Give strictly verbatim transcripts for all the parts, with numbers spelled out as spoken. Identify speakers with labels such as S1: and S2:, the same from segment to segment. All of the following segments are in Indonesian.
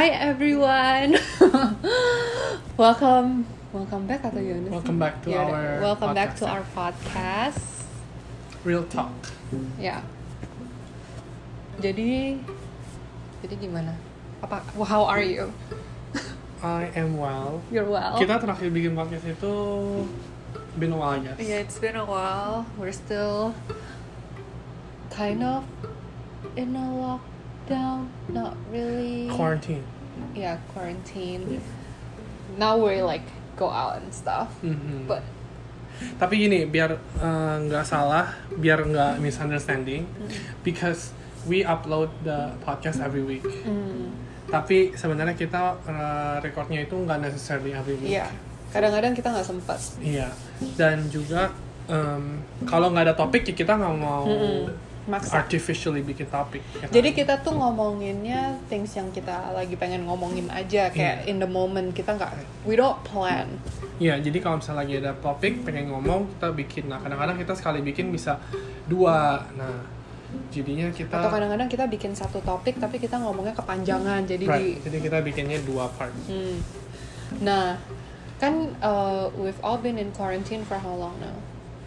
S1: Hi everyone. welcome, welcome back atau gimana sih?
S2: Welcome back to
S1: Ya,
S2: our
S1: welcome back
S2: podcast.
S1: to our podcast.
S2: Real talk.
S1: Ya. Jadi, jadi gimana? Apa? How are you?
S2: I am well.
S1: You're well.
S2: Kita terakhir bikin podcast itu been a while, I guess.
S1: Yeah, it's been a while. We're still kind of in a lockdown. Not really.
S2: Quarantine.
S1: Yeah, quarantine. Now we like go out and stuff.
S2: Mhm.
S1: But
S2: Tapi gini, biar uh, nggak salah, biar nggak misunderstanding,
S1: mm,
S2: because we upload the podcast every week.
S1: mm,
S2: Tapi sebenarnya kita uh, recordnya itu nggak necessarily every week.
S1: iya. Kadang-kadang kita nggak sempat.
S2: Iya. Dan juga um, kalau nggak ada topik, ya kita nggak mau
S1: Mm-mm. Maksa.
S2: artificially bikin topik. Ya kan?
S1: Jadi kita tuh ngomonginnya things yang kita lagi pengen ngomongin aja, kayak
S2: Iya.
S1: in the moment. Kita nggak, we don't plan.
S2: Iya, jadi kalau misalnya lagi ada topik pengen ngomong, kita bikin. Nah, kadang-kadang kita sekali bikin bisa dua. Nah, jadinya kita
S1: Atau kadang-kadang kita bikin satu topik tapi kita ngomongnya kepanjangan. Jadi
S2: right.
S1: di,
S2: Jadi kita bikinnya dua part.
S1: hmm. Nah, kan uh, we've all been in quarantine for how long now?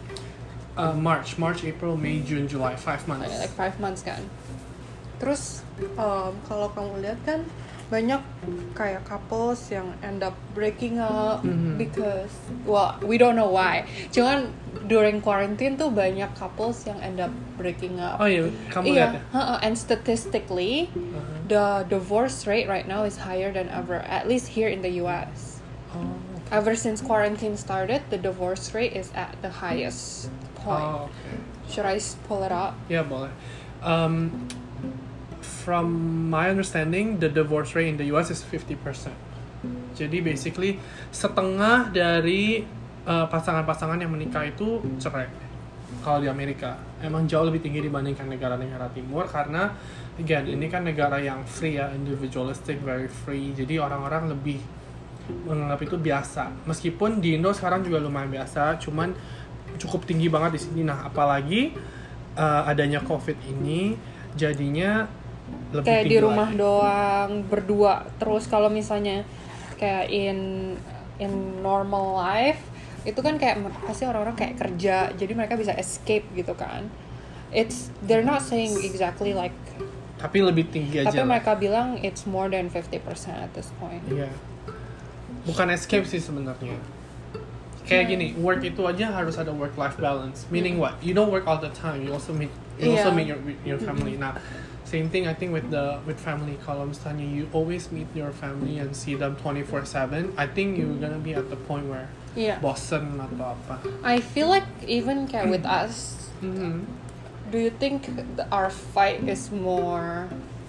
S2: Uh, March, March, April, May, June, July, five months.
S1: Like five months kan. Terus um, kalau kamu lihat kan banyak kayak couples yang end up breaking up
S2: Mhm.
S1: because well we don't know why. Cuman during quarantine tuh banyak couples yang end up breaking up.
S2: Oh iya, kamu
S1: Iya,
S2: lihat ya?
S1: uh-uh, and statistically
S2: Uh-huh.
S1: the divorce rate right now is higher than ever, at least here in the U S.
S2: Oh,
S1: Ever since quarantine started, the divorce rate is at the highest point.
S2: oh oke.
S1: Should I s- pull it up?
S2: Ya boleh. Um, from my understanding, the divorce rate in the U S is fifty percent. Jadi basically setengah dari uh, pasangan-pasangan yang menikah itu cerai. Kalau di Amerika emang jauh lebih tinggi dibandingkan negara-negara timur karena again ini kan negara yang free ya, individualistic, very free. Jadi orang-orang lebih menganggap itu biasa. Meskipun di Indo sekarang juga lumayan biasa, cuman cukup tinggi banget di sini. Nah, apalagi uh, adanya COVID ini jadinya lebih
S1: Kayak
S2: tinggi
S1: di rumah
S2: lagi.
S1: doang berdua. Terus kalau misalnya kayak in in normal life itu kan kayak mer- pasti orang-orang kayak kerja, jadi mereka bisa escape gitu kan. It's they're not saying exactly like,
S2: Tapi lebih tinggi aja.
S1: tapi
S2: lah.
S1: mereka bilang it's more than fifty percent at this point.
S2: Iya. Bukan escape sih sebenarnya. Kayak gini, work itu aja harus ada work life balance. Meaning what? You don't work all the time. You also meet you also
S1: Iya.
S2: meet your your family. Nah, same thing I think with the with family. Kalau misalnya you always meet your family and see them twenty-four seven, I think you're gonna be at the point where
S1: Iya.
S2: bosen atau apa.
S1: I feel like even kayak with us,
S2: Mhm.
S1: do you think th- our fight is more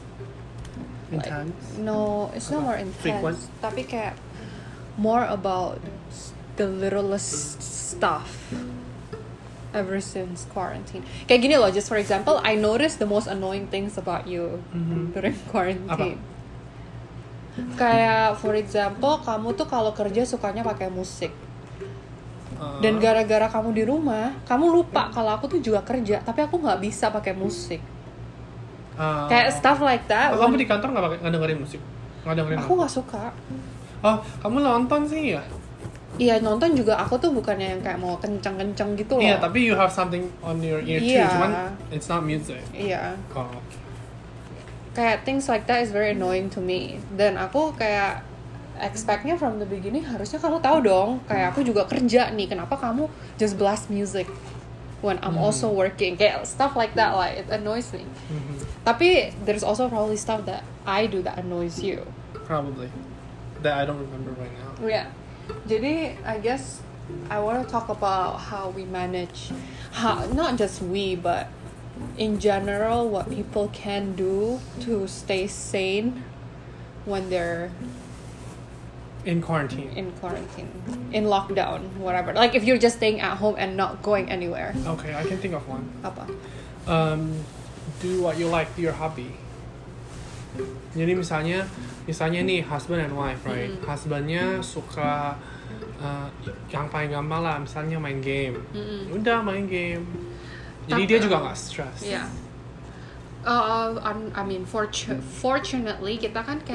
S1: like,
S2: Intense.
S1: no, it's not
S2: Apa?
S1: more intense.
S2: Frequent?
S1: Tapi kayak more about the littlest stuff ever since quarantine. Kayak gini loh, just for example, I noticed the most annoying things about you
S2: Mhm.
S1: during quarantine. Kayak for example, kamu tuh kalau kerja sukanya pakai musik.
S2: Uh,
S1: Dan gara-gara kamu di rumah, kamu lupa kalau aku tuh juga kerja, tapi aku nggak bisa pakai musik.
S2: uh,
S1: Kayak stuff like that.
S2: Oh, kamu di kantor nggak pakai nggak dengerin musik? Nggak dengerin?
S1: Aku
S2: apa?
S1: nggak suka.
S2: Oh, kamu nonton sih ya?
S1: Iya, nonton juga aku tuh bukannya yang kayak mau kenceng-kenceng gitu loh.
S2: Iya, tapi you have something on your ear
S1: Iya.
S2: too, cuman it's not music.
S1: Iya.
S2: Oh,
S1: Kayak things like that is very annoying to me. Dan aku kayak expectnya from the beginning harusnya kamu tahu dong, kayak aku juga kerja nih, kenapa kamu just blast music when I'm
S2: Hmm.
S1: also working, kayak stuff like that, like it annoys me.
S2: mhm.
S1: Tapi there's also probably stuff that I do that annoys you.
S2: Probably. That I don't remember right now.
S1: Yeah. Jadi I guess I want to talk about how we manage, how not just we but in general what people can do to stay sane when they're
S2: In quarantine.
S1: in quarantine, in lockdown, whatever. Like if you're just staying at home and not going anywhere.
S2: Okay, I can think of one.
S1: Apa?
S2: Um, do what you like, do your hobby. Jadi misalnya, misalnya nih husband and wife, right?
S1: Mm-mm.
S2: Husbandnya suka uh, yang paling gampang lah, misalnya main game.
S1: Mm-mm.
S2: Udah main game. Jadi
S1: Tapi-
S2: dia juga nggak stress.
S1: Yeah. Uh, I mean, fortu- fortunately kita kan kayak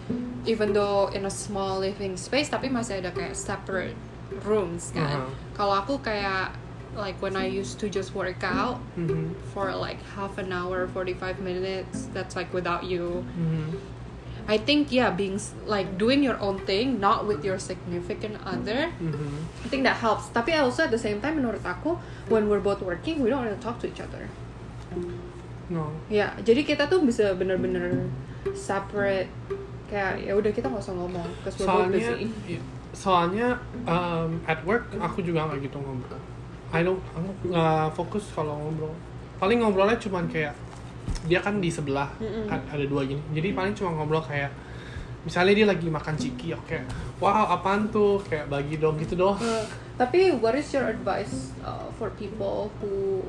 S1: even though in a small living space tapi masih ada kayak separate rooms kan.
S2: Uh-huh.
S1: Kalau aku kayak like when I used to just work out
S2: Mm-hmm.
S1: for like half an hour, forty-five minutes, that's like without you.
S2: Mm-hmm.
S1: I think yeah, being s- like doing your own thing, not with your significant other.
S2: Mm-hmm.
S1: I think that helps. Tapi also at the same time, menurut aku, when we're both working, we don't really talk to each other.
S2: No.
S1: Ya, jadi kita tuh bisa bener-bener separate. Kayak ya udah kita nggak usah ngomong, cause we're both
S2: Soalnya,
S1: busy.
S2: i- soalnya um, at work aku juga nggak gitu ngobrol. I don't, aku nggak fokus kalau ngobrol. Paling ngobrolnya cuman kayak dia kan di sebelah,
S1: Mm-mm.
S2: a- ada dua gini. Jadi paling cuma ngobrol kayak misalnya dia lagi makan ciki, oke, wow apaan tuh, kayak bagi dong gitu doang.
S1: Uh, tapi what is your advice uh, for people who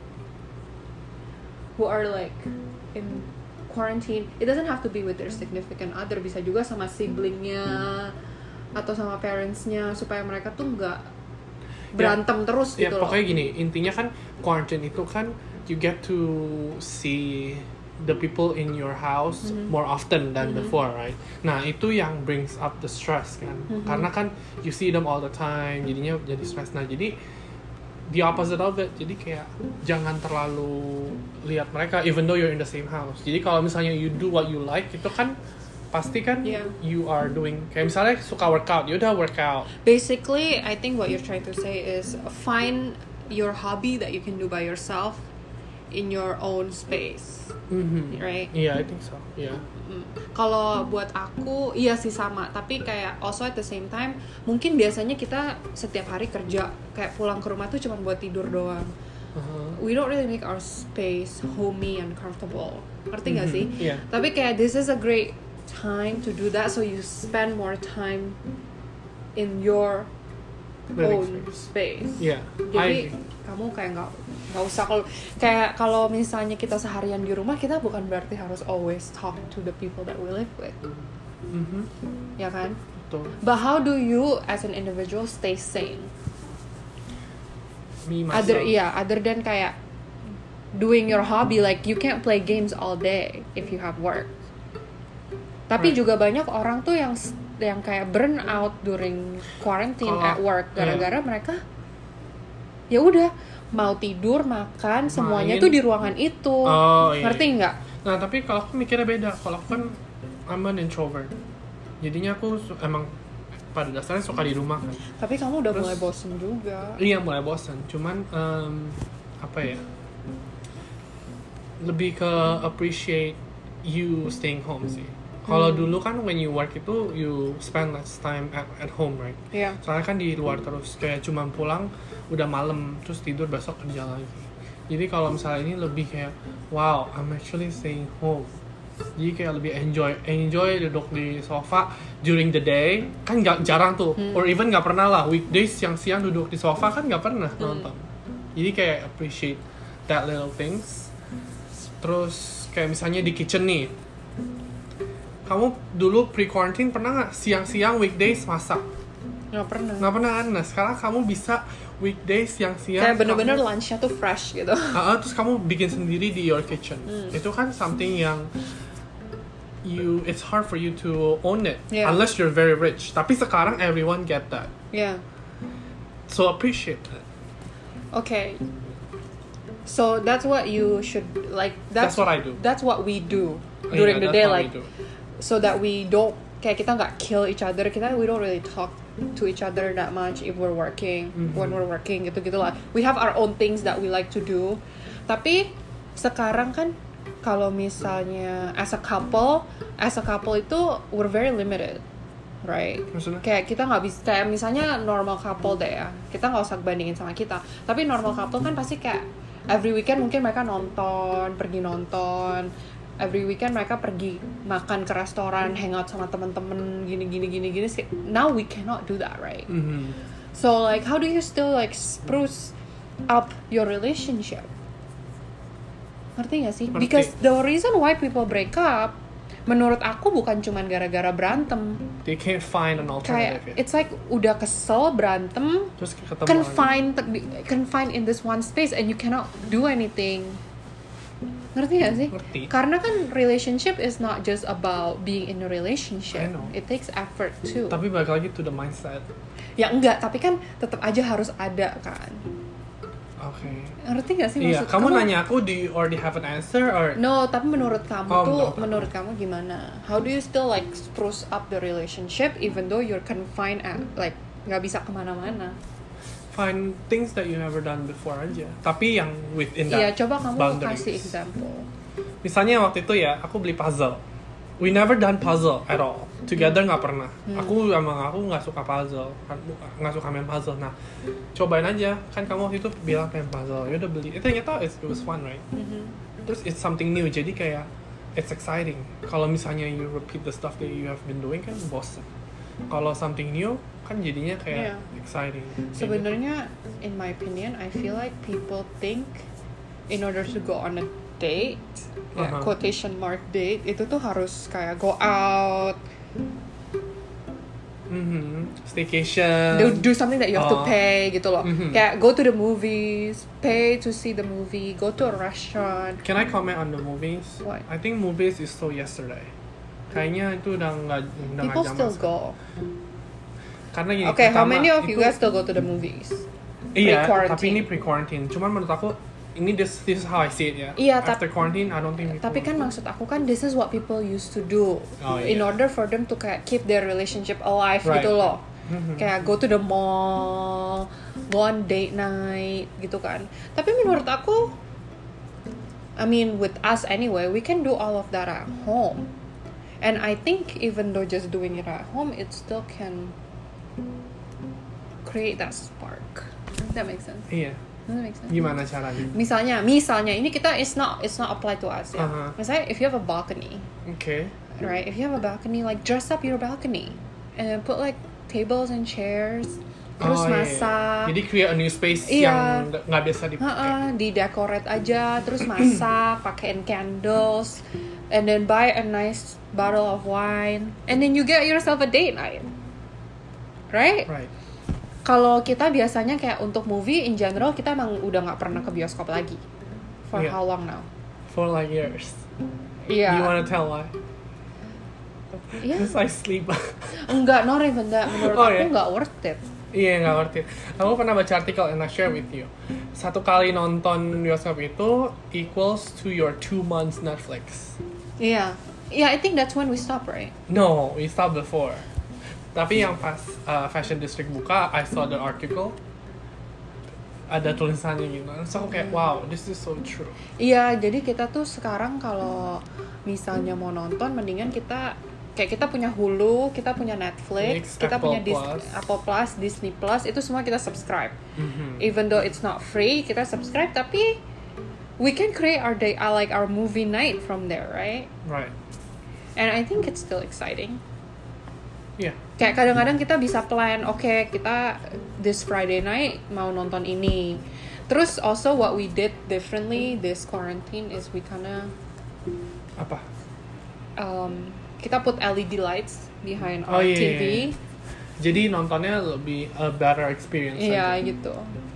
S1: who are like in quarantine? It doesn't have to be with their significant other, bisa juga sama siblingnya atau sama parentsnya, supaya mereka tuh nggak berantem terus
S2: Ya
S1: gitu loh.
S2: pokoknya gini, intinya kan quarantine itu kan you get to see the people in your house
S1: Mhm.
S2: more often than
S1: Mhm.
S2: before, right? Nah itu yang brings up the stress kan,
S1: Mhm.
S2: karena kan you see them all the time, jadinya jadi stress. Nah jadi the opposite of it, jadi kayak jangan terlalu lihat mereka even though you're in the same house. Jadi kalau misalnya you do what you like, itu kan pasti kan
S1: Yeah.
S2: you are doing, kayak misalnya suka workout, you udah workout.
S1: Basically, I think what you're trying to say is find your hobby that you can do by yourself in your own space,
S2: Mhm.
S1: right?
S2: Yeah, I think so. Yeah.
S1: Mm. Kalau buat aku, iya sih sama. Tapi kayak also at the same time, mungkin biasanya kita setiap hari kerja, kayak pulang ke rumah tuh cuma buat tidur doang.
S2: Uh-huh.
S1: We don't really make our space homey and comfortable. Ngerti nggak
S2: Mhm.
S1: sih?
S2: Yeah.
S1: Tapi kayak this is a great time to do that, so you spend more time in your
S2: Living
S1: own
S2: space.
S1: space.
S2: Yeah.
S1: Jadi
S2: I
S1: kamu kayak nggak nggak usah kalau kayak kalau misalnya kita seharian di rumah, kita bukan berarti harus always talk to the people that we live with,
S2: Mhm.
S1: ya kan?
S2: Betul.
S1: But how do you as an individual stay sane?
S2: Me myself.
S1: Other yeah, other than kayak doing your hobby, like you can't play games all day if you have work. Tapi
S2: Right.
S1: juga banyak orang tuh yang s- yang kayak burn out during quarantine
S2: Kalau-
S1: at work
S2: iya.
S1: gara-gara mereka ya udah mau tidur, makan, semuanya
S2: Main.
S1: tuh di ruangan itu.
S2: Oh, iya.
S1: Ngerti nggak?
S2: Nah tapi kalau aku mikirnya beda. Kalau aku kan I'm an introvert. Jadinya aku su- emang pada dasarnya suka di rumah kan.
S1: Tapi kamu udah
S2: Terus-
S1: mulai bosen juga.
S2: Iya mulai bosan. Cuman em, apa ya? Lebih ke appreciate you staying home sih. Kalau
S1: Hmm.
S2: dulu kan when you work itu you spend less time at, at home, right?
S1: Iya.
S2: Soalnya kan di luar terus, kayak cuma pulang udah malam terus tidur, besok kerja lagi. Jadi kalau misalnya ini lebih kayak wow, I'm actually staying home. Jadi kayak lebih enjoy enjoy duduk di sofa during the day, kan nggak jarang tuh,
S1: Hmm.
S2: or even nggak pernah lah weekdays siang-siang duduk di sofa kan nggak pernah nonton. Jadi kayak appreciate that little things. Terus kayak misalnya di kitchen nih, kamu dulu pre-quarantine pernah nggak siang-siang weekdays masak?
S1: Nggak pernah.
S2: Nggak pernah kan? Nah sekarang kamu bisa weekdays siang-siang
S1: Kayak bener-bener
S2: kamu-
S1: lunchnya tuh fresh gitu.
S2: Ah, ah, terus kamu bikin sendiri di your kitchen.
S1: Hmm.
S2: Itu kan something yang you it's hard for you to own it
S1: Yeah.
S2: unless you're very rich. Tapi sekarang everyone get that.
S1: Yeah.
S2: So appreciate it.
S1: Okay. So that's what you should like.
S2: That's what I do.
S1: That's what we do
S2: Yeah,
S1: during the
S2: that's
S1: day,
S2: what we
S1: like
S2: do.
S1: so that we don't kayak kita nggak kill each other. Kita we don't really talk to each other that much if we're working.
S2: Mhm.
S1: When we're working gitu gitu lah. We have our own things that we like to do. Tapi sekarang kan kalau misalnya as a couple, as a couple itu we're very limited, right?
S2: Maksudnya?
S1: Kayak kita nggak bisa kayak misalnya normal couple deh ya, kita nggak usah bandingin sama kita, tapi normal couple kan pasti kayak every weekend mungkin mereka nonton, pergi nonton, every weekend mereka pergi makan ke restoran, hangout sama temen-temen gini gini gini gini. Now we cannot do that, right?
S2: Mhm.
S1: So like how do you still like spruce up your relationship? Ngerti gak sih?
S2: Ngerti.
S1: Because the reason why people break up, menurut aku bukan cuman gara-gara berantem.
S2: They can't find an
S1: Kayak
S2: alternative. ya.
S1: it's like udah kesel berantem,
S2: Terus ketemu lagi.
S1: confined confined in this one space and you cannot do anything. Ngerti gak sih?
S2: Ngerti.
S1: Karena kan relationship is not just about being in a relationship.
S2: I know.
S1: It takes effort too.
S2: Tapi balik lagi to the mindset.
S1: Ya enggak, tapi kan tetap aja harus ada kan.
S2: Oke. Okay.
S1: Ngerti gak sih
S2: Iya,
S1: maksud
S2: kamu, nanya aku, do you already have an answer or?
S1: No, tapi menurut kamu
S2: Oh,
S1: tuh,
S2: menurut aku.
S1: menurut kamu gimana? How do you still like spruce up the relationship even though you're confined at like nggak bisa kemana-mana?
S2: Find things that you never done before aja. Tapi yang within
S1: Iya,
S2: that
S1: coba kamu
S2: boundaries.
S1: kasih example.
S2: Misalnya waktu itu ya, aku beli puzzle. We never done puzzle at all. Together nggak pernah.
S1: Hmm.
S2: Aku emang aku nggak suka puzzle, nggak suka main puzzle. Nah, cobain aja. Kan kamu waktu itu bilang pengen puzzle. Ya udah beli. Itu ternyata it was fun, right?
S1: Mhm.
S2: Terus it's something new. Jadi kayak it's exciting. Kalau misalnya you repeat the stuff that you have been doing kan bosan. Kalau something new kan jadinya kayak
S1: Yeah.
S2: exciting.
S1: Sebenarnya, in my opinion, I feel like people think in order to go on a date, ya,
S2: Uh-huh.
S1: quotation mark date, itu tuh harus kayak go out,
S2: Mhm. Staycation.
S1: do, do something that you have to
S2: Oh.
S1: pay gitu loh.
S2: Mhm.
S1: Kayak go to the movies, pay to see the movie, go to a restaurant.
S2: Can I comment on the movies?
S1: What?
S2: I think movies is so yesterday. Kayaknya itu udah nggak udah nggak
S1: People
S2: zaman
S1: still
S2: sekarang.
S1: go.
S2: Karena gini.
S1: Okay, how
S2: pertama,
S1: many of you
S2: itu-
S1: guys still go to the movies?
S2: Iya,
S1: pre-quarantine?
S2: tapi ini pre-quarantine. Cuman menurut aku ini this this is how I see it ya.
S1: Iya,
S2: After
S1: tap-
S2: quarantine, I don't think.
S1: Tapi kan maksud aku kan this is what people used to do
S2: Oh,
S1: in
S2: iya.
S1: order for them to kayak keep their relationship alive
S2: Right.
S1: gitu loh.
S2: Mhm.
S1: Kayak go to the mall, go on date night gitu kan. Tapi menurut aku, I mean with us anyway, we can do all of that at home. And I think even though just doing it at home, it still can create that spark. Does that make sense?
S2: Iya.
S1: Does that make sense?
S2: Gimana caranya?
S1: Misalnya, misalnya ini kita it's not it's not apply to us ya.
S2: Uh-huh.
S1: Misalnya if you have a balcony,
S2: Oke.
S1: right? If you have a balcony, like dress up your balcony and put like tables and chairs, terus
S2: Oh, iya, iya.
S1: masak.
S2: Jadi create a new space
S1: Iya.
S2: yang nggak biasa dipakai.
S1: Heeh, di decorate aja, terus masak, pakein candles, and then buy a nice bottle of wine, and then you get yourself a date night, right?
S2: Right.
S1: Kalau kita biasanya kayak untuk movie in general kita emang udah nggak pernah ke bioskop lagi. For
S2: Yeah.
S1: how long now?
S2: For like years.
S1: Iya.
S2: You wanna tell why?
S1: Iya.
S2: Because I sleep.
S1: Enggak, not even that. Menurut
S2: Oh,
S1: aku
S2: ya?
S1: nggak worth it.
S2: Iya, nggak worth it. Aku pernah baca artikel and I share with you. Satu kali nonton bioskop itu equals to your two months Netflix.
S1: Iya. Yeah, I think that's when we stop, right?
S2: No, we stopped before. Tapi yang pas uh, Fashion District buka, I saw the article. Ada tulisannya gitu. So aku kayak, wow, this is so true.
S1: Iya, jadi kita tuh sekarang kalau misalnya mau nonton, mendingan kita kayak kita punya Hulu, kita punya Netflix,
S2: Netflix,
S1: kita
S2: Apple
S1: punya Dis-
S2: Plus.
S1: Apple Plus, Disney Plus, itu semua kita subscribe.
S2: Mhm.
S1: Even though it's not free, kita subscribe, tapi we can create our day, uh, like our movie night from there, right?
S2: Right.
S1: And I think it's still exciting.
S2: Iya.
S1: Kayak kadang-kadang kita bisa plan, oke okay, kita this Friday night mau nonton ini. Terus also what we did differently this quarantine is we kinda
S2: Apa?
S1: um, kita put L E D lights behind
S2: Oh,
S1: our
S2: iya,
S1: T V.
S2: iya, iya. Jadi nontonnya lebih a better experience.
S1: Iya
S2: aja.
S1: gitu.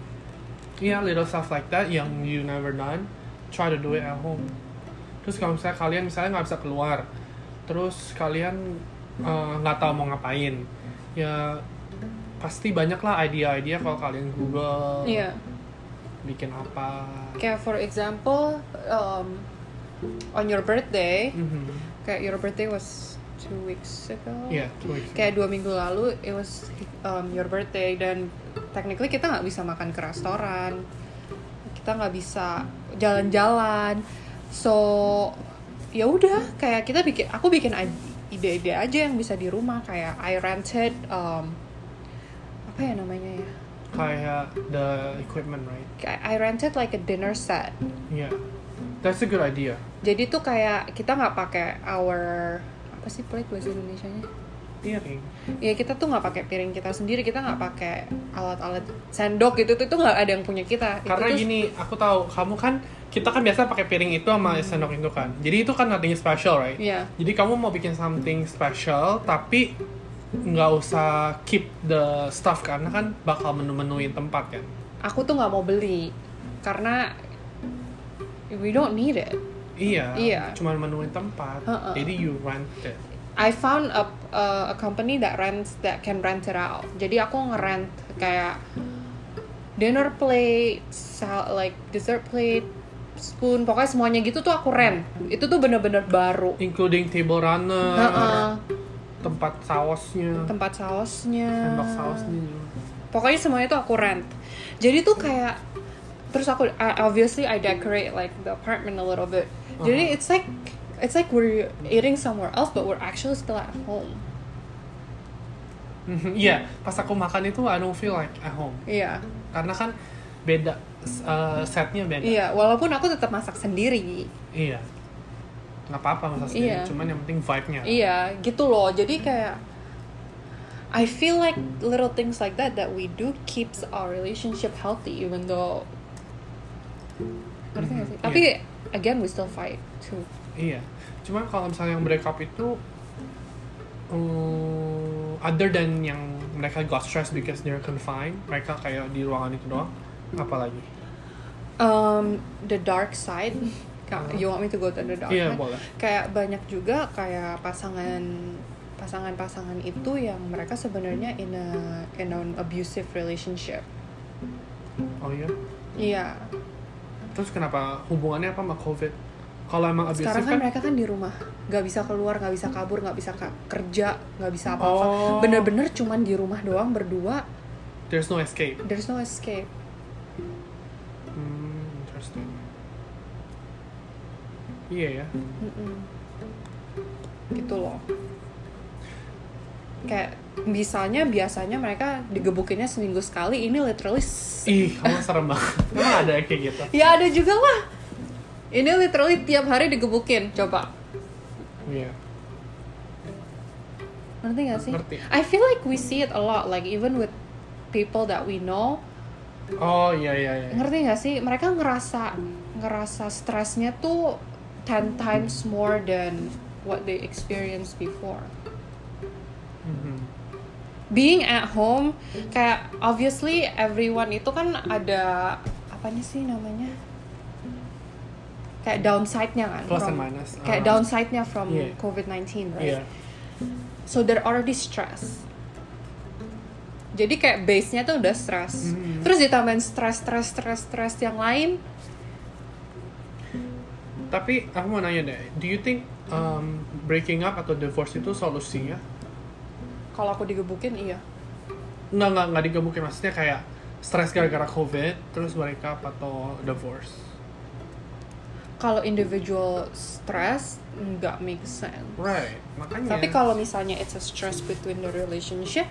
S2: Iya, little stuff like that yang you never done, try to do it at home. Terus kalau misalnya kalian misalnya nggak bisa keluar, terus kalian uh, nggak tahu mau ngapain, ya pasti banyak lah ide-ide kalau kalian Google
S1: Iya.
S2: bikin apa.
S1: Kayak for example, um, on your birthday,
S2: Mhm.
S1: kayak your birthday was two weeks ago.
S2: Iya, two weeks ago.
S1: Kayak dua minggu lalu, it was um, your birthday dan technically kita nggak bisa makan ke restoran, kita nggak bisa jalan-jalan, so ya udah kayak kita bikin, aku bikin ide-ide aja yang bisa di rumah, kayak I rented um, apa ya namanya ya?
S2: Kayak the equipment, right?
S1: Kayak I rented like a dinner set.
S2: Yeah, that's a good idea.
S1: Jadi tuh kayak kita nggak pakai our apa sih plate bahasa Indonesianya?
S2: Piring.
S1: Ya kita tuh nggak pakai piring kita sendiri, kita nggak pakai alat-alat sendok gitu tuh, itu nggak ada yang punya kita. Itu
S2: Karena
S1: tuh-
S2: gini, aku tahu kamu kan, kita kan biasa pakai piring itu sama sendok itu kan. Jadi itu kan nothing special, right?
S1: Iya.
S2: Jadi kamu mau bikin something special, tapi nggak usah keep the stuff karena kan bakal menu-menuin tempat kan.
S1: Aku tuh nggak mau beli karena we don't need it.
S2: Iya,
S1: Iya.
S2: cuma menemuin tempat.
S1: Uh-uh.
S2: Jadi you rent it.
S1: I found a a, a company that rents that can rent it out. Jadi aku nge-rent kayak dinner plate, sal- like dessert plate, spoon, pokoknya semuanya gitu tuh aku rent. Itu tuh bener-bener baru.
S2: Including table runner,
S1: Uh-uh.
S2: tempat sausnya,
S1: Tempat sausnya.
S2: sendok sausnya.
S1: Pokoknya semuanya tuh aku rent. Jadi tuh kayak terus aku I- obviously I decorate like the apartment a little bit. Jadi
S2: Uh-huh.
S1: it's like it's like we're eating somewhere else but we're actually still at home.
S2: Mhm, Iya, pas aku makan itu I don't feel like at home.
S1: Iya.
S2: Karena kan beda, uh, setnya beda.
S1: Iya, walaupun aku tetap masak sendiri.
S2: Iya. Nggak apa-apa masak sendiri,
S1: Iya.
S2: cuman yang penting vibe-nya.
S1: Iya, gitu loh. Jadi kayak I feel like little things like that that we do keeps our relationship healthy even though ngerti nggak sih?
S2: Mhm,
S1: Tapi
S2: iya.
S1: again we still fight too.
S2: Iya. Cuman kalau misalnya yang break up itu um, other than yang mereka got stressed because they're confined, mereka kayak di ruangan itu doang, apalagi?
S1: Um, the dark side. Kak,
S2: Uh.
S1: you want me to go to the dark
S2: Iya,
S1: side?
S2: boleh.
S1: Kayak banyak juga kayak pasangan pasangan-pasangan itu yang mereka sebenarnya in a in an abusive relationship.
S2: Oh iya.
S1: Iya.
S2: Terus kenapa hubungannya apa sama COVID? Kalau emang abusive
S1: Sekarang kan
S2: kan,
S1: mereka kan di rumah, nggak bisa keluar, nggak bisa kabur, nggak bisa ka- kerja, nggak bisa apa-apa.
S2: Oh.
S1: Bener-bener cuman di rumah doang berdua.
S2: there's no escape.
S1: There's no escape.
S2: Hmm, interesting. Iya ya.
S1: Mm-mm. Gitu loh. Kayak misalnya biasanya mereka digebukinnya seminggu sekali, ini literally s-
S2: Ih, kamu serem banget. Emang ada kayak gitu?
S1: ya ada juga lah. Ini literally tiap hari digebukin, coba.
S2: Iya.
S1: Ngerti gak sih?
S2: Ngerti.
S1: I feel like we see it a lot, like even with people that we know.
S2: Oh iya iya iya.
S1: Ngerti gak sih? Mereka ngerasa ngerasa stresnya tuh ten times more than what they experienced before.
S2: Mhm.
S1: Being at home, kayak obviously everyone itu kan ada apanya sih namanya? Kayak downside-nya kan.
S2: Plus
S1: from-
S2: and minus.
S1: Kayak
S2: Uh,
S1: downside-nya from
S2: Yeah.
S1: covid nineteen, right?
S2: Iya.
S1: So they're already stressed. Jadi kayak base-nya tuh udah stress.
S2: Mhm.
S1: Terus ditambahin stress, stress, stress, stress yang lain.
S2: Tapi aku mau nanya deh, do you think um, breaking up atau divorce itu solusinya?
S1: Kalau aku digebukin, iya.
S2: Nggak nggak nggak digebukin, maksudnya kayak stres gara-gara COVID terus break up atau divorce?
S1: Kalau individual stress, nggak make sense.
S2: Right, makanya.
S1: Tapi kalau misalnya it's a stress between the relationship,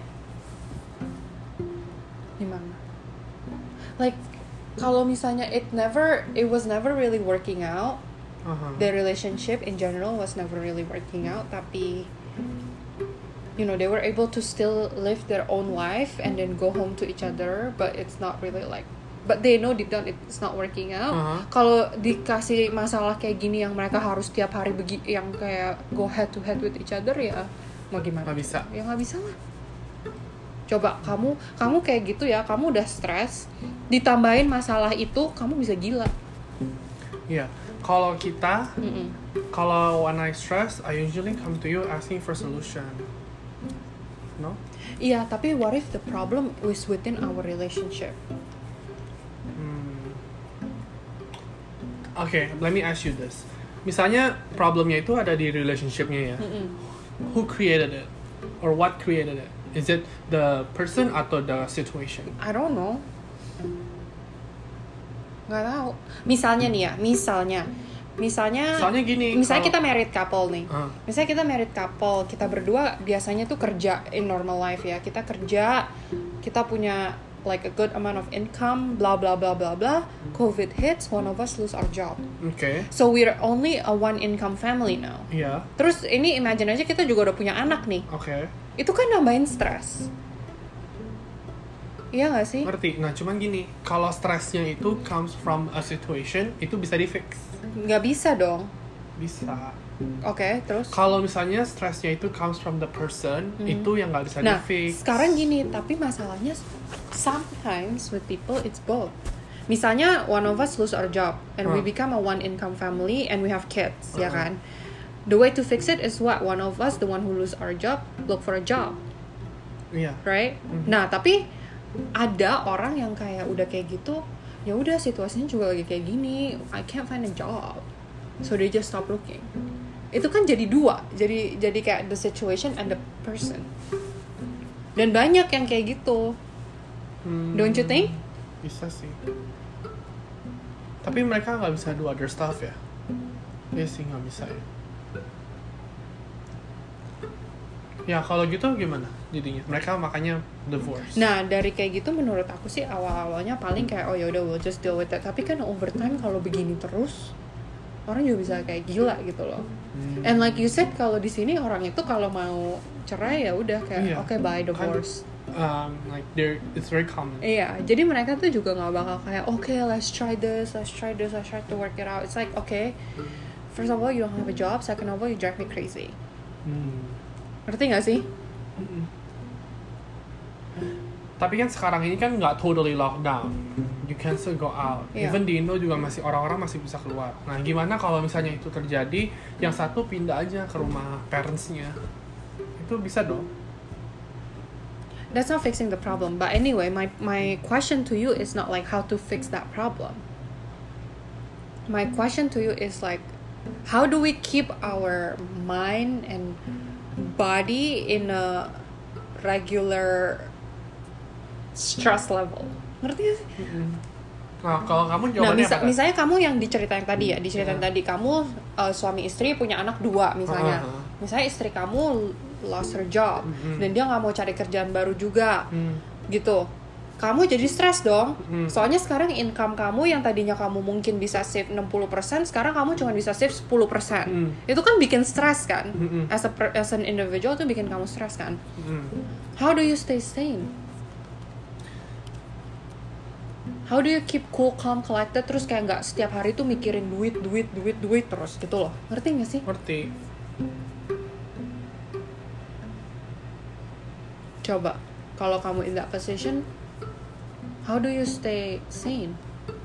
S1: gimana? Like kalau misalnya it never, it was never really working out.
S2: Uh-huh.
S1: The relationship in general was never really working out. Tapi, you know, they were able to still live their own life and then go home to each other. But it's not really like, but they know deep down it's not working out.
S2: Uh-huh.
S1: Kalau dikasih masalah kayak gini yang mereka harus tiap hari begi, yang kayak go head to head with each other, ya mau gimana?
S2: Nggak bisa.
S1: Ya nggak bisa lah. Coba kamu kamu kayak gitu ya, kamu udah stres, ditambahin masalah itu, kamu bisa gila.
S2: Iya, kalau kita,
S1: Mm-mm.
S2: kalau when I stress, I usually come to you asking for solution. No?
S1: Iya, tapi what if the problem is within our relationship?
S2: Hmm. Oke, let me ask you this. Misalnya problemnya itu ada di relationshipnya ya.
S1: Mm-mm.
S2: Who created it? Or what created it? Is it the person atau the situation?
S1: I don't know. Nggak tahu. Misalnya nih ya, misalnya, misalnya,
S2: Soalnya gini,
S1: misalnya
S2: kalau-
S1: kita married couple nih.
S2: Ah.
S1: Misalnya kita married couple, kita berdua biasanya tuh kerja in normal life ya. Kita kerja, kita punya like a good amount of income, blah blah blah blah blah. COVID hits, one of us lose our job.
S2: Oke,
S1: So we're only a one income family now.
S2: iya,
S1: Terus ini imagine aja kita juga udah punya anak nih.
S2: oke,
S1: Itu kan nambahin stres. Iya gak sih?
S2: ngerti. Nah, cuman gini, kalau stresnya itu comes from a situation, itu bisa di fix.
S1: Nggak bisa dong.
S2: Bisa.
S1: Oke, terus?
S2: Kalau misalnya stresnya itu comes from the person, itu yang nggak bisa
S1: Nah,
S2: di fix.
S1: sekarang gini, tapi masalahnya sometimes with people it's both. Misalnya one of us lose our job and we
S2: Huh.
S1: become a one income family and we have kids, ya
S2: Uh-uh.
S1: kan? The way to fix it is what? One of us, the one who lose our job, look for a job,
S2: Iya.
S1: right?
S2: Mhm.
S1: Nah, tapi ada orang yang kayak udah kayak gitu, ya udah situasinya juga lagi kayak gini, I can't find a job, so they just stop looking. Itu kan jadi dua, jadi jadi kayak the situation and the person. Dan banyak yang kayak gitu,
S2: Hmm,
S1: don't you think?
S2: Bisa sih. Tapi mereka nggak bisa do other stuff ya? Iya sih nggak bisa ya. Ya kalau gitu gimana jadinya? Mereka makanya divorce.
S1: Nah dari kayak gitu menurut aku sih awal-awalnya paling kayak oh ya udah we'll just deal with that. Tapi kan over time kalau begini terus orang juga bisa kayak gila gitu loh.
S2: Hmm.
S1: And like you said kalau di sini orang itu kalau mau cerai ya udah kayak
S2: Iya.
S1: oke okay, bye divorce.
S2: Um, like there, it's very common.
S1: Iya, jadi mereka tuh juga nggak bakal kayak oke okay, let's try this, let's try this, let's try to work it out. It's like okay, first of all you don't have a job, second of all you drive me crazy.
S2: Hmm.
S1: Ngerti nggak sih?
S2: Mm-mm. Tapi kan sekarang ini kan nggak totally lockdown. You can still go out.
S1: Iya.
S2: Even di Indo juga masih orang-orang masih bisa keluar. Nah, gimana kalau misalnya itu terjadi, yang satu pindah aja ke rumah parents-nya? Itu bisa dong.
S1: That's not fixing the problem. But anyway, my my question to you is not like how to fix that problem. My question to you is like, how do we keep our mind and body in a regular stress level? Ngerti gak sih?
S2: Mm-mm. Nah, kalau kamu
S1: Nah,
S2: jawabannya
S1: misa-
S2: apa?
S1: misalnya kamu yang diceritain tadi ya, diceritain
S2: Yeah.
S1: tadi kamu uh, suami istri punya anak dua misalnya.
S2: Uh-huh.
S1: Misalnya istri kamu lost her job
S2: Mhm.
S1: dan dia nggak mau cari kerjaan baru juga,
S2: Hmm.
S1: gitu. Kamu jadi stres dong.
S2: Mhm.
S1: Soalnya sekarang income kamu yang tadinya kamu mungkin bisa save enam puluh persen, sekarang kamu cuma bisa save sepuluh persen.
S2: Mhm.
S1: Itu kan bikin stres kan?
S2: Mhm.
S1: As a per- as an individual tuh bikin kamu stres kan?
S2: Hmm.
S1: How do you stay sane? How do you keep cool, calm, collected terus kayak nggak setiap hari tuh mikirin duit, duit, duit, duit terus gitu loh. Ngerti nggak sih?
S2: Ngerti.
S1: Coba kalau kamu in that position, how do you stay sane?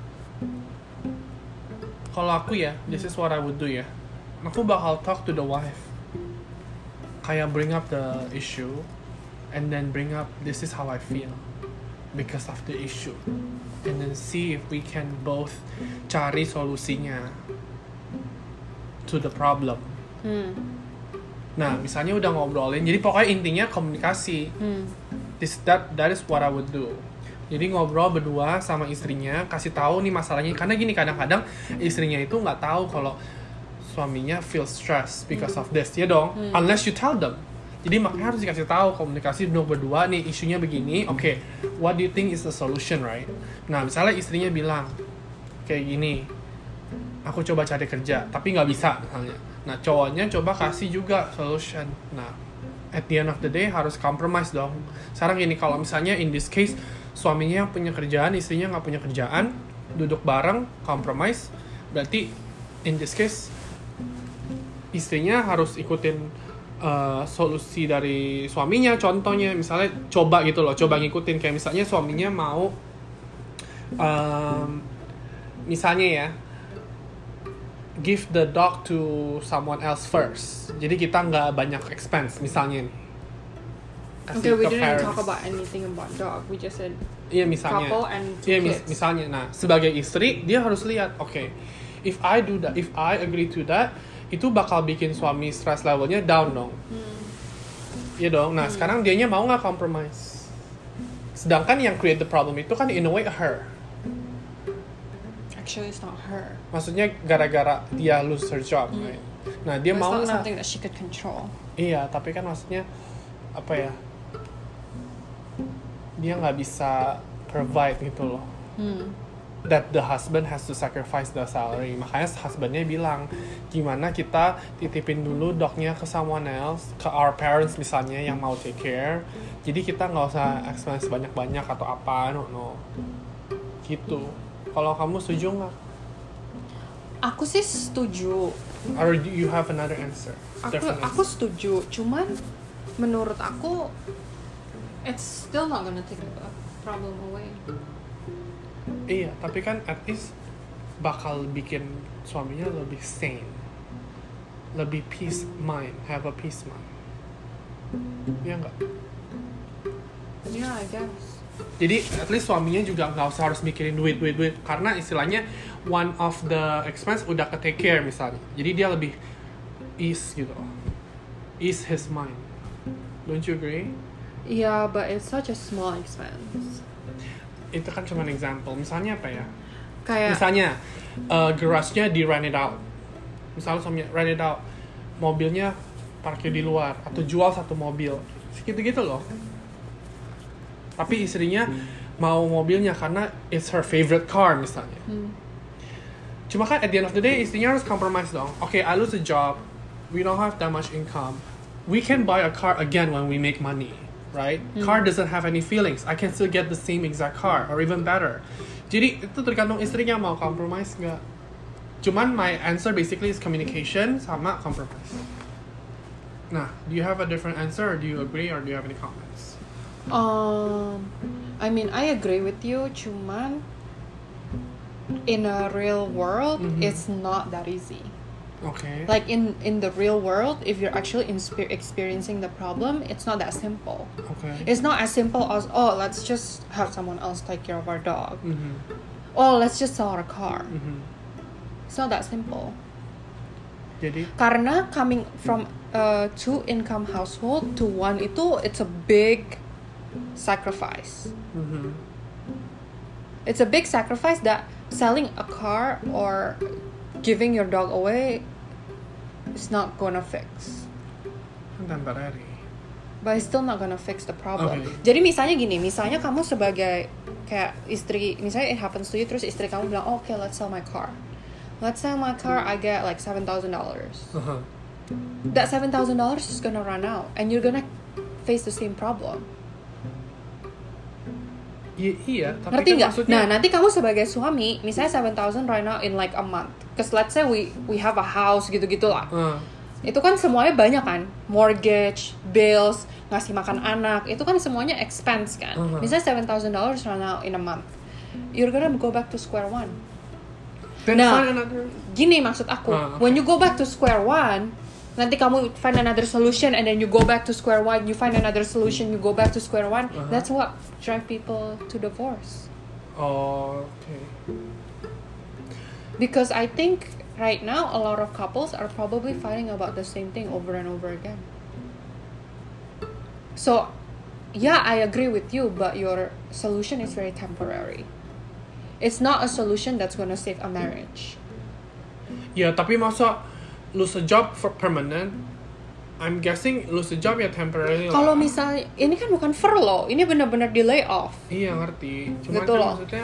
S2: Kalau aku ya, this is what I would do ya. Aku bakal talk to the wife. Kayak bring up the issue, and then bring up this is how I feel because of the issue, and then see if we can both cari solusinya to the problem.
S1: Hmm.
S2: Nah, misalnya udah ngobrolin, jadi pokoknya intinya komunikasi.
S1: Hmm.
S2: This that that is what I would do. Jadi ngobrol berdua sama istrinya, kasih tahu nih masalahnya. Karena gini kadang-kadang istrinya itu nggak tahu kalau suaminya feel stress because of this, ya dong.
S1: Hmm.
S2: Unless you tell them. Jadi makanya harus dikasih tahu komunikasi duduk berdua nih isunya begini. Oke, okay, what do you think is the solution, right? Nah, misalnya istrinya bilang kayak gini, aku coba cari kerja, tapi nggak bisa misalnya. Nah, cowoknya coba kasih juga solution. Nah, at the end of the day harus compromise dong. Sekarang gini, kalau misalnya in this case suaminya yang punya kerjaan, istrinya nggak punya kerjaan, duduk bareng, compromise, berarti in this case istrinya harus ikutin uh, solusi dari suaminya. Contohnya misalnya coba gitu loh, coba ngikutin kayak misalnya suaminya mau um, misalnya ya give the dog to someone else first. Jadi kita nggak banyak expense misalnya nih.
S1: Okay, we
S2: ke
S1: didn't
S2: parents.
S1: talk about anything about dog. We just said
S2: Iya misalnya.
S1: couple and two
S2: Iya mis-
S1: kids.
S2: misalnya. Nah sebagai istri dia harus lihat, oke, okay, if I do that, if I agree to that, itu bakal bikin suami stress levelnya down dong.
S1: Hmm.
S2: Iya dong. Nah sekarang dianya mau nggak compromise? Sedangkan yang create the problem itu kan in a way her.
S1: Actually, it's not her.
S2: Maksudnya gara-gara dia lose her job,
S1: Hmm.
S2: right? Nah dia
S1: It's
S2: mau
S1: not
S2: nggak?
S1: something that she could control.
S2: Iya, tapi kan maksudnya apa ya? Dia nggak bisa provide gitu loh.
S1: Hmm.
S2: That the husband has to sacrifice the salary. Makanya husbandnya bilang, gimana kita titipin dulu dognya ke someone else, ke our parents misalnya yang mau take care. Jadi kita nggak usah expense banyak-banyak atau apa, no no. Gitu. Kalau kamu setuju nggak?
S1: Aku sih setuju.
S2: Or do you have another answer?
S1: Aku
S2: Different
S1: aku
S2: answer?
S1: setuju. Cuman menurut aku it's still not gonna take the problem away.
S2: Iya, tapi kan at least bakal bikin suaminya lebih sane, lebih peace mind, have a peace mind. Iya nggak?
S1: Yeah, I guess.
S2: Jadi at least suaminya juga nggak usah harus mikirin duit, duit, duit, karena istilahnya one of the expense udah ke take care misalnya. Jadi dia lebih ease gitu, ease his mind. Don't you agree?
S1: Yeah, but it's such a small expense.
S2: Itu kan cuma example. Misalnya apa ya?
S1: Kayak
S2: Misalnya uh, garage-nya di rent it out. Misalnya suaminya rent it out, mobilnya parkir di luar atau jual satu mobil, segitu-gitu loh. Tapi istrinya mau mobilnya karena it's her favorite car misalnya.
S1: Hmm.
S2: Cuma kan at the end of the day istrinya harus compromise dong. Okay, I lose a job, we don't have that much income. We can buy a car again when we make money, right?
S1: Hmm.
S2: Car doesn't have any feelings. I can still get the same exact car or even better. Jadi itu tergantung istrinya mau compromise nggak. Cuman my answer basically is communication sama compromise. Nah, do you have a different answer or do you agree or do you have any comments?
S1: Um, I mean, I agree with you. Cuman in a real world,
S2: Mhm.
S1: it's not that easy.
S2: Okay.
S1: Like in in the real world, if you're actually inspe- experiencing the problem, it's not that simple.
S2: Okay.
S1: It's not as simple as, oh, let's just have someone else take care of our dog.
S2: Mhm.
S1: Oh, let's just sell our car.
S2: Mhm.
S1: It's not that simple.
S2: Jadi
S1: Karena coming from a two income household to one itu, it's a big sacrifice.
S2: mhm.
S1: It's a big sacrifice that selling a car or giving your dog away is not gonna fix.
S2: Temporary.
S1: But it's still not gonna fix the problem.
S2: Okay.
S1: Jadi misalnya gini, misalnya kamu sebagai kayak istri, misalnya it happens to you, terus istri kamu bilang, oh, okay, let's sell my car. Let's sell my car, I get like seven thousand dollars.
S2: Uh-huh.
S1: That seven thousand dollars is gonna run out, and you're gonna face the same problem.
S2: I- iya, tapi
S1: Ngerti
S2: kan
S1: nggak?
S2: maksudnya
S1: Nah, nanti kamu sebagai suami, misalnya seven thousand right now in like a month. Cause let's say we we have a house gitu-gitulah.
S2: uh,
S1: Itu kan semuanya banyak kan, mortgage, bills, ngasih makan anak, itu kan semuanya expense kan.
S2: Uh-huh.
S1: Misalnya seven thousand dollars run out in a month, you're gonna go back to square one.
S2: then
S1: Nah,
S2: find another.
S1: Gini maksud aku,
S2: Ah, okay.
S1: when you go back to square one, nanti kamu find another solution and then you go back to square one, you find another solution, you go back to square one.
S2: Uh-huh.
S1: That's what drive people to divorce.
S2: Oh, okay.
S1: Because I think right now a lot of couples are probably fighting about the same thing over and over again. So, yeah, I agree with you, but your solution is very temporary. It's not a solution that's gonna save a marriage.
S2: Ya, tapi masa lose a job for permanent? I'm guessing lose a job ya temporary lah.
S1: Kalau misalnya ini kan bukan furlough, ini benar-benar di layoff.
S2: Iya, ngerti. Cuma
S1: Gitu
S2: kan
S1: loh.
S2: maksudnya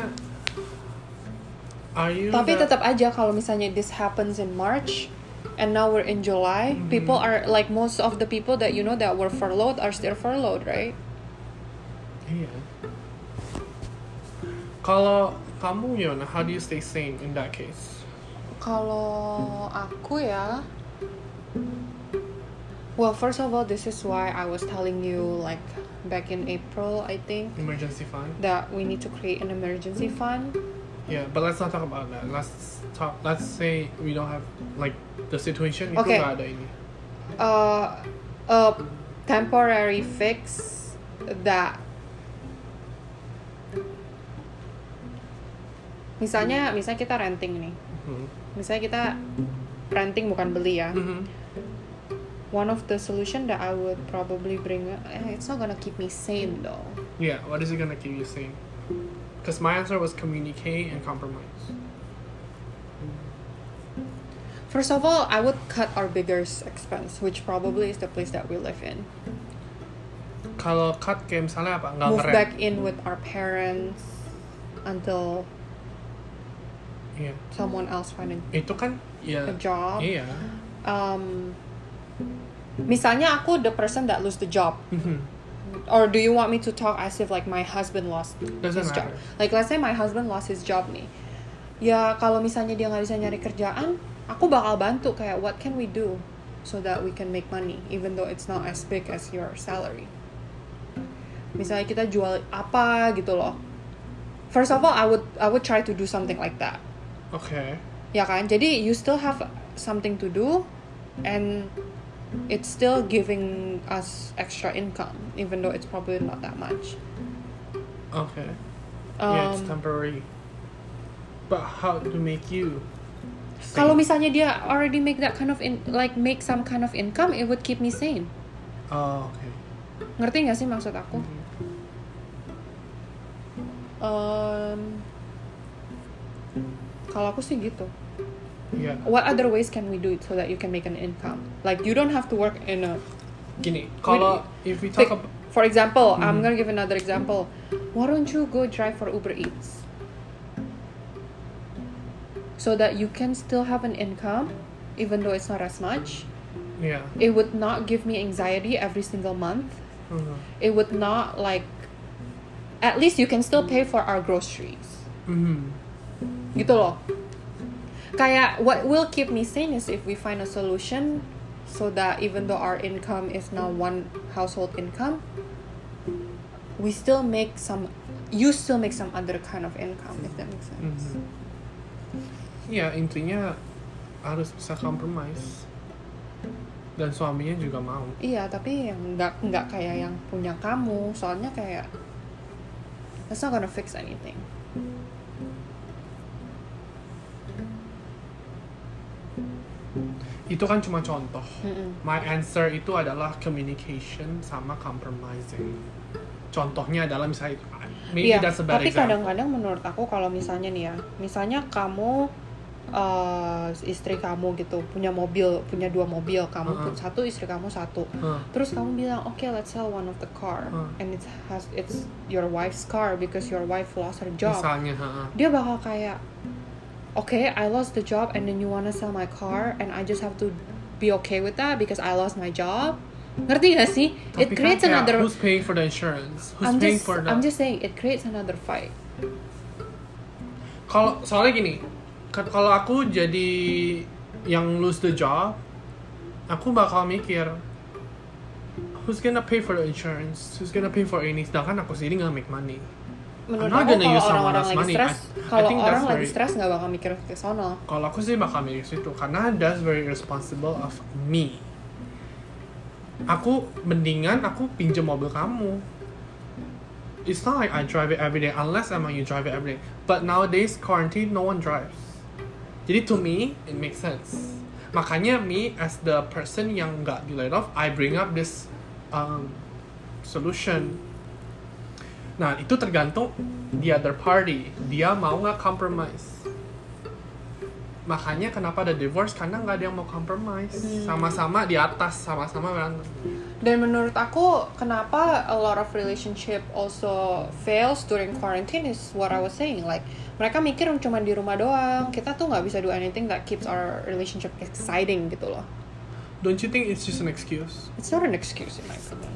S2: are you
S1: Tapi
S2: that-
S1: tetap aja kalau misalnya this happens in March and now we're in July,
S2: Mhm.
S1: people are like most of the people that you know that were furloughed are still furloughed, right?
S2: Iya. Kalau kamu Yona, how do you stay sane in that case?
S1: Kalau aku ya, well, first of all, this is why I was telling you like back in April, I think,
S2: Emergency fund?
S1: that we need to create an emergency fund.
S2: Yeah, but let's not talk about that. Let's talk. Let's say we don't have like the situation itu
S1: Okay.
S2: nggak ada ini.
S1: Uh, a temporary fix that misalnya misalnya kita renting nih,
S2: Mhm.
S1: misalnya kita renting bukan beli ya.
S2: Mhm.
S1: One of the solution that I would probably bring, eh, it's not gonna keep me sane though.
S2: Yeah, what is it gonna keep you sane? Because my answer was communicate and compromise.
S1: First of all, I would cut our biggest expense, which probably is the place that we live in.
S2: Kalau cut kayak misalnya apa? Nggak
S1: Move
S2: ngerem.
S1: back in with our parents until
S2: Iya.
S1: someone else find a,
S2: Itu kan ya.
S1: a job.
S2: Iya.
S1: Um, misalnya aku the person that lose the job,
S2: Mhm.
S1: or do you want me to talk as if like my husband lost
S2: Doesn't
S1: his job?
S2: matter.
S1: Like let's say my husband lost his job nih. Ya kalau misalnya dia nggak bisa nyari kerjaan, aku bakal bantu kayak what can we do so that we can make money even though it's not as big as your salary. Misalnya kita jual apa gitu loh. first of all I would I would try to do something like that.
S2: Okay.
S1: Ya kan, jadi you still have something to do, and it's still giving us extra income, even though it's probably not that much.
S2: Okay.
S1: Um,
S2: yeah, it's temporary. But how to make you? sane?
S1: Kalau misalnya dia already make that kind of in, like make some kind of income, it would keep me sane.
S2: Oh, okay.
S1: Ngerti nggak sih maksud aku? Um, kalau aku sih gitu.
S2: Yeah.
S1: What other ways can we do it so that you can make an income? Like you don't have to work in a.
S2: Gini, kalau if we talk
S1: Pick,
S2: about,
S1: for example, I'm
S2: Mhm.
S1: gonna give another example. Why don't you go drive for Uber Eats? So that you can still have an income, even though it's not as much.
S2: yeah.
S1: It would not give me anxiety every single month.
S2: Mhm.
S1: It would not like. At least you can still pay for our groceries.
S2: Mhm.
S1: Gitu loh. Kayak what will keep me sane is if we find a solution so that even though our income is now one household income, we still make some, you still make some other kind of income, if that makes sense.
S2: Mhm. Ya, intinya harus bisa compromise. Dan suaminya juga mau.
S1: Iya, tapi yang nggak nggak kayak yang punya kamu, soalnya kayak that's not gonna fix anything.
S2: Itu kan cuma contoh.
S1: Mm-mm.
S2: My answer itu adalah communication sama compromising. Contohnya adalah misalnya, maybe
S1: Iya,
S2: that's a bad
S1: tapi
S2: example.
S1: kadang-kadang menurut aku kalau misalnya nih ya, misalnya kamu uh, istri kamu gitu punya mobil, punya dua mobil, kamu
S2: Uh-uh.
S1: pun satu, istri kamu satu.
S2: Huh.
S1: Terus kamu bilang, okay, let's sell one of the car,
S2: Uh.
S1: and it has it's your wife's car because your wife lost her job.
S2: Misalnya, ha-ha.
S1: Dia bakal kayak, okay, I lost the job, and then you wanna sell my car, and I just have to be okay with that because I lost my job. Ngerti gak sih?
S2: Tapi
S1: It creates
S2: kan kayak,
S1: another.
S2: who's paying for the insurance? Who's
S1: I'm
S2: paying
S1: just,
S2: for the?
S1: I'm just saying, it creates another fight.
S2: Kalau soalnya gini, kan kalau aku jadi yang lose the job, aku bakal mikir, who's gonna pay for the insurance? Who's gonna pay for ini? Sedangkan aku sendiri nggak make money.
S1: Menurut
S2: I'm not
S1: aku
S2: gonna
S1: kalau
S2: use someone
S1: orang-orang
S2: else's
S1: lagi
S2: money.
S1: stres,
S2: I- I
S1: kalau
S2: think
S1: orang
S2: that's
S1: lagi
S2: very-
S1: stres nggak bakal mikir ke sono.
S2: Kalau aku sih bakal mikir situ, karena that's very irresponsible of me. Aku mendingan aku pinjam mobil kamu. It's not like I drive it every day unless emang you drive it every day. But nowadays quarantine no one drives. Jadi to me it makes sense. Makanya me as the person yang nggak di laid off, I bring up this um, solution. Nah itu tergantung the other party, dia mau nggak compromise. Makanya kenapa ada divorce, karena nggak ada yang mau compromise. Sama-sama di atas, sama-sama berantem.
S1: Dan menurut aku, kenapa a lot of relationship also fails during quarantine is what I was saying. Like, mereka mikir cuma di rumah doang. Kita tuh nggak bisa do anything that keeps our relationship exciting gitu loh.
S2: Don't you think it's just an excuse?
S1: It's not an excuse in my opinion.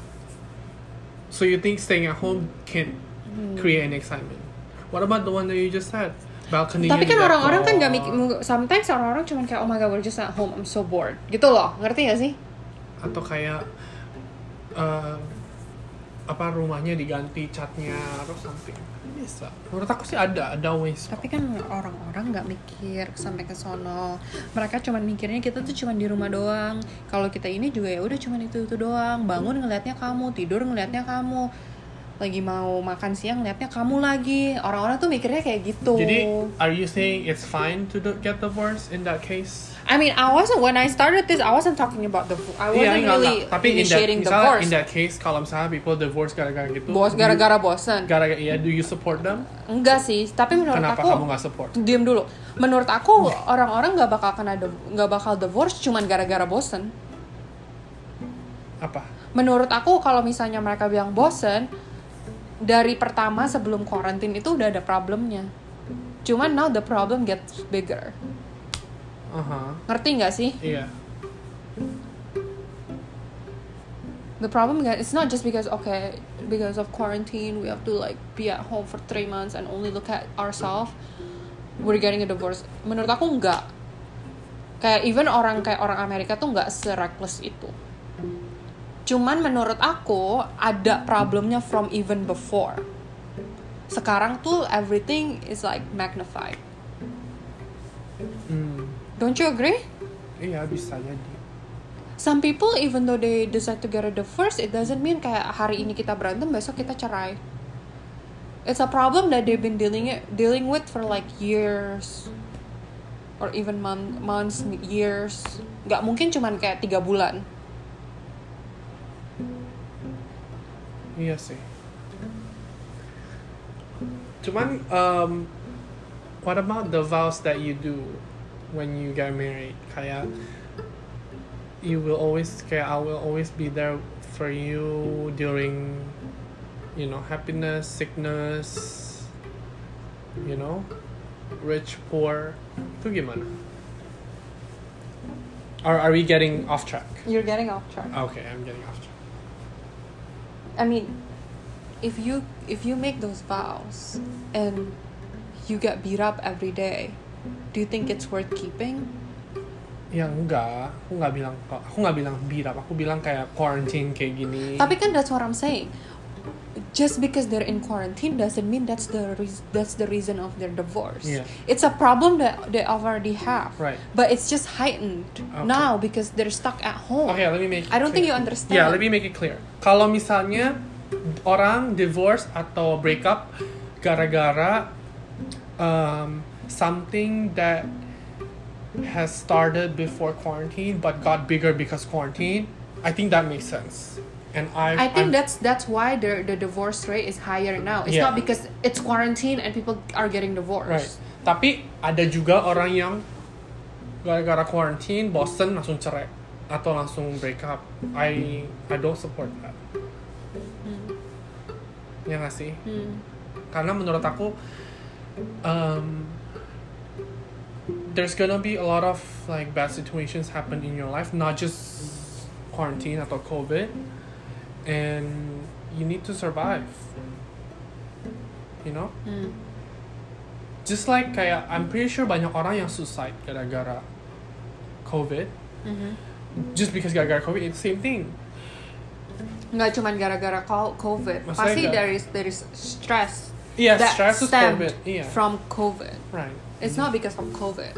S2: So you think staying at home can create an excitement? What about the one that you just said? Balcony.
S1: Tapi kan orang-orang kan gak mikir, sometimes orang-orang cuma kayak, oh my god, we're just at home, I'm so bored. Gitu loh, ngerti gak sih?
S2: Atau kayak uh, apa rumahnya diganti catnya atau something. Bisa. Menurut aku sih ada, ada ways.
S1: Tapi kan orang-orang gak mikir sampai ke sono. Mereka cuma mikirnya kita tuh cuma di rumah doang. Kalau kita ini juga ya udah cuma itu-itu doang. Bangun ngelihatnya kamu, tidur ngelihatnya kamu. Lagi mau makan siang ngelihatnya kamu lagi. Orang-orang tuh mikirnya kayak gitu.
S2: Jadi, are you saying it's fine to do- get divorced in that case?
S1: I mean, I wasn't, when I started this, I wasn't talking about the, I wasn't
S2: Iya, enggak,
S1: really
S2: enggak. Tapi in that,
S1: initiating
S2: misalnya
S1: divorce.
S2: in that case, kalau misalnya people divorce gara-gara gitu,
S1: Bos,
S2: do you-
S1: gara-gara bosan.
S2: gara-gara iya, do you support them?
S1: Enggak sih, tapi menurut
S2: Kenapa
S1: aku
S2: kamu nggak support?
S1: Diam dulu. Menurut aku orang-orang nggak bakal kena nggak bakal divorce cuman gara-gara bosen.
S2: Apa?
S1: Menurut aku kalau misalnya mereka bilang bosen, dari pertama sebelum quarantine itu udah ada problemnya. Cuman now the problem gets bigger.
S2: Aha.
S1: Ngerti nggak sih?
S2: Iya.
S1: The problem get, it's not just because okay because of quarantine we have to like be at home for three months and only look at ourselves. We're getting a divorce. Menurut aku enggak. Kayak even orang kayak orang Amerika tuh enggak se-reckless itu. Cuman menurut aku ada problemnya from even before. sekarang tuh everything is like magnified.
S2: Hmm.
S1: Don't you agree?
S2: Iya, bisa jadi.
S1: Some people even though they decide to get a divorce, it doesn't mean kayak hari ini kita berantem besok kita cerai. It's a problem that they've been dealing it, dealing with for like years or even month, months, years. Gak mungkin cuman kayak tiga bulan.
S2: Iya sih. Cuman, um, what about the vows that you do when you get married? Kayak, you will always, kayak I will always be there for you during, you know, happiness, sickness, you know, rich, poor. Itu gimana? Or are we getting off track?
S1: You're getting off track.
S2: Okay, I'm getting off track.
S1: I mean, if you if you make those vows and you get beat up every day, do you think it's worth keeping?
S2: Ya enggak, aku nggak bilang aku nggak bilang beat up, aku bilang kayak quarantine kayak gini.
S1: Tapi kan that's what I'm saying. Just because they're in quarantine doesn't mean that's the re- that's the reason of their divorce.
S2: Yeah.
S1: It's a problem that they already have.
S2: Right.
S1: But it's just heightened
S2: Okay.
S1: now because they're stuck at home.
S2: Okay, let me make it
S1: I don't
S2: clear.
S1: think you understand.
S2: Yeah, let me make it clear. Kalau misalnya orang divorce atau break up gara-gara um, something that has started before quarantine but got bigger because quarantine, I think that makes sense. And I
S1: I think
S2: I'm,
S1: that's that's why the the divorce rate is higher now. It's
S2: Yeah.
S1: not because it's quarantine and people are getting divorced.
S2: right. Tapi ada juga orang yang gara-gara quarantine bosen langsung cerai atau langsung break up. I I don't support that.
S1: Hmm.
S2: Ya nggak sih?
S1: Hmm.
S2: Karena menurut aku um, there's gonna be a lot of like bad situations happen in your life, not just quarantine atau COVID, and you need to survive. You know?
S1: Hmm.
S2: Just like kayak I'm pretty sure banyak orang yang suicide gara-gara COVID.
S1: Mhm.
S2: Just because gara-gara COVID, it's the same thing.
S1: Nggak cuman gara-gara co- COVID.
S2: Maksudnya
S1: Pasti
S2: nggak-
S1: there is there is stress
S2: Iya,
S1: that
S2: stress is
S1: stemmed
S2: COVID. Iya.
S1: from COVID.
S2: Right.
S1: It's not because of COVID.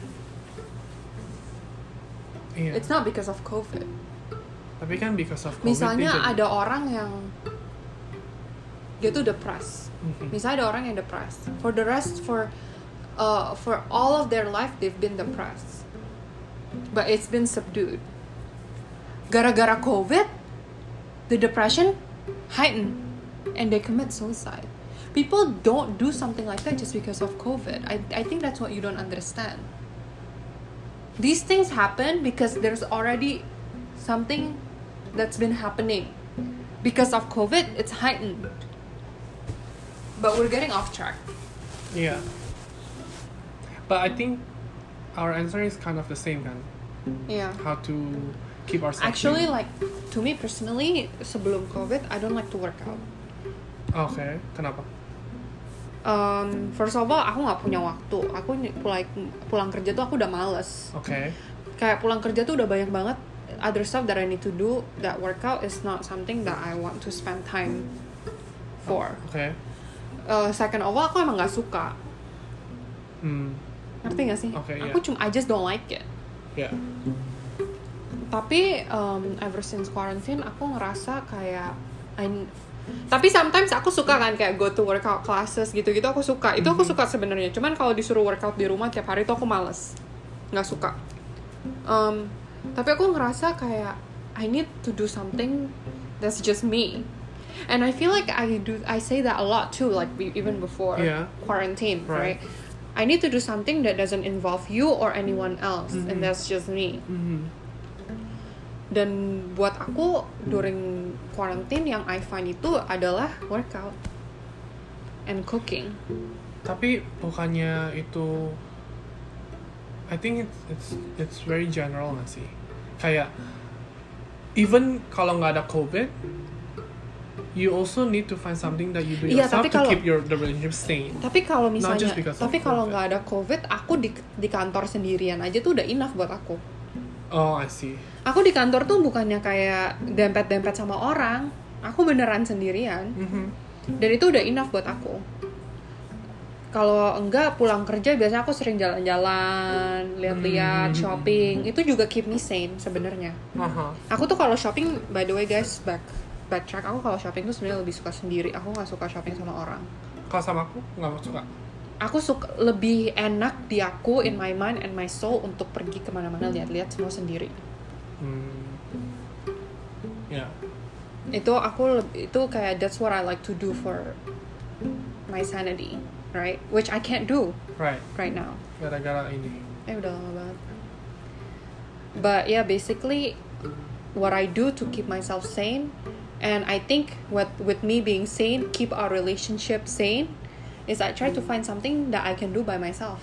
S2: Iya.
S1: It's not because of COVID.
S2: Tapi kan because of COVID.
S1: Misalnya
S2: dia jadi-
S1: ada orang yang dia tuh depressed.
S2: Mhm.
S1: Misalnya ada orang yang depressed. For the rest, for uh, for all of their life, they've been depressed. But it's been subdued. Gara-gara COVID, the depression heightened, and they commit suicide. People don't do something like that just because of COVID. I I think that's what you don't understand. These things happen because there's already something that's been happening. Because of COVID, it's heightened. But we're getting off track.
S2: Yeah. But I think our answer is kind of the same kan.
S1: Yeah.
S2: How to keep ourselves
S1: Actually,
S2: sane.
S1: like, to me personally, sebelum COVID, I don't like to work out.
S2: Okay, kenapa?
S1: Um, first of all, aku nggak punya waktu. Aku ny- pulang pulang kerja tuh aku udah males.
S2: Okay.
S1: Kayak pulang kerja tuh udah banyak banget other stuff that I need to do. That workout is not something that I want to spend time for.
S2: Okay.
S1: Uh, second of all, aku emang nggak suka.
S2: Hmm.
S1: Ngerti nggak sih?
S2: Okay,
S1: Aku cuma I just don't like it.
S2: Yeah.
S1: Tapi um, ever since quarantine aku ngerasa kayak I, tapi sometimes aku suka kan kayak go to workout classes gitu-gitu aku suka. Itu aku suka sebenarnya. Cuman kalau disuruh workout di rumah tiap hari tuh aku males. Nggak suka. Um, tapi aku ngerasa kayak I need to do something that's just me. And I feel like I do I say that a lot too, like be- even before
S2: Yeah.
S1: quarantine,
S2: Right.
S1: right? I need to do something that doesn't involve you or anyone else,
S2: Mhm.
S1: and that's just me.
S2: Mhm.
S1: Dan buat aku during quarantine yang I find itu adalah workout and cooking.
S2: Tapi bukannya itu, I think it's it's it's very general nggak sih? Kayak even kalau nggak ada COVID, you also need to find something that you do
S1: Iya,
S2: yourself
S1: tapi
S2: to
S1: kalau-
S2: keep your the relationship sane.
S1: Tapi kalau misalnya,
S2: just because of
S1: tapi kalau
S2: COVID.
S1: nggak ada COVID, aku di di kantor sendirian aja tuh udah enough buat aku.
S2: Oh, I see.
S1: Aku di kantor tuh bukannya kayak dempet-dempet sama orang, aku beneran sendirian.
S2: Mhm.
S1: Dan itu udah enough buat aku. Kalau enggak pulang kerja biasanya aku sering jalan-jalan, lihat-lihat,
S2: Hmm.
S1: shopping. Itu juga keep me sane sebenarnya.
S2: Aha.
S1: Aku tuh kalau shopping, by the way guys, back backtrack, aku kalau shopping tuh sebenarnya lebih suka sendiri. Aku nggak suka shopping sama orang.
S2: Kalau sama aku nggak suka.
S1: Aku suka lebih enak di aku, in my mind and my soul, untuk pergi kemana-mana lihat-lihat semua sendiri.
S2: Hmm. Ya.
S1: Itu aku leb- itu kayak that's what I like to do for my sanity, right? Which I can't do
S2: Right.
S1: right now.
S2: Gara-gara ini.
S1: Eh udah lama banget. But yeah, basically what I do to keep myself sane, and I think what with me being sane, keep our relationship sane, is I try to find something that I can do by myself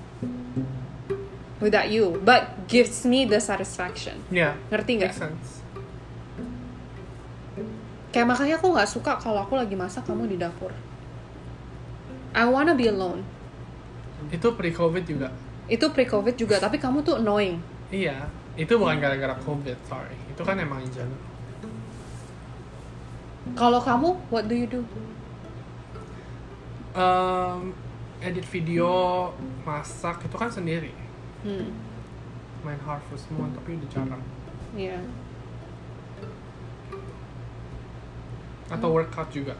S1: without you, but gives me the satisfaction.
S2: Ya.
S1: Ngerti nggak?
S2: Make sense.
S1: Kayak makanya aku nggak suka kalau aku lagi masak kamu di dapur. I wanna be alone.
S2: Itu pre-COVID juga.
S1: Itu pre-COVID juga, tapi kamu tuh annoying.
S2: Iya. Itu bukan gara-gara COVID, sorry. Itu kan emang in general.
S1: Kalau kamu, what do you do?
S2: Um, edit video, masak itu kan sendiri.
S1: Hmm,
S2: Main Harvest Moon tapi udah jarang.
S1: yeah.
S2: Atau workout juga.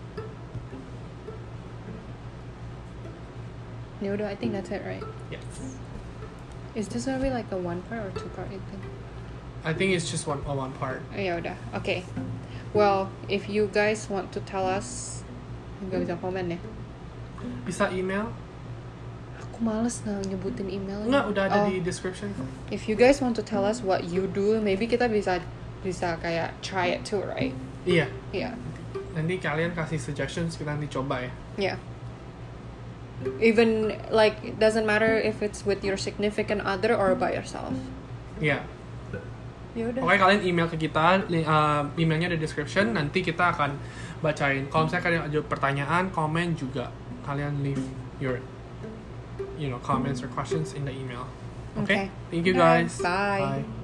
S1: Ya udah, I think that's it, right?
S2: Yes.
S1: Is this gonna be like a one part or two part? I think.
S2: I think it's just one oh, one part.
S1: Oh, ya udah, okay. Well, if you guys want to tell us, nggak bisa komen ya.
S2: Bisa email?
S1: Aku males nggak nyebutin email.
S2: Enggak, udah ada
S1: Oh,
S2: di description.
S1: if you guys want to tell us what you do, maybe kita bisa bisa kayak try it too, right?
S2: Iya.
S1: Yeah,
S2: Nanti kalian kasih suggestions, kita nanti coba ya.
S1: yeah. Even like it doesn't matter if it's with your significant other or by yourself.
S2: Iya.
S1: Ya udah.
S2: Pokoknya kalian email ke kita, li- uh, emailnya ada description, nanti kita akan bacain. Kalau misalnya kalian ada pertanyaan, komen juga, kalian leave your, you know, comments or questions in the email. Okay?
S1: Okay.
S2: Thank you
S1: Bye.
S2: guys.
S1: Bye.
S2: Bye.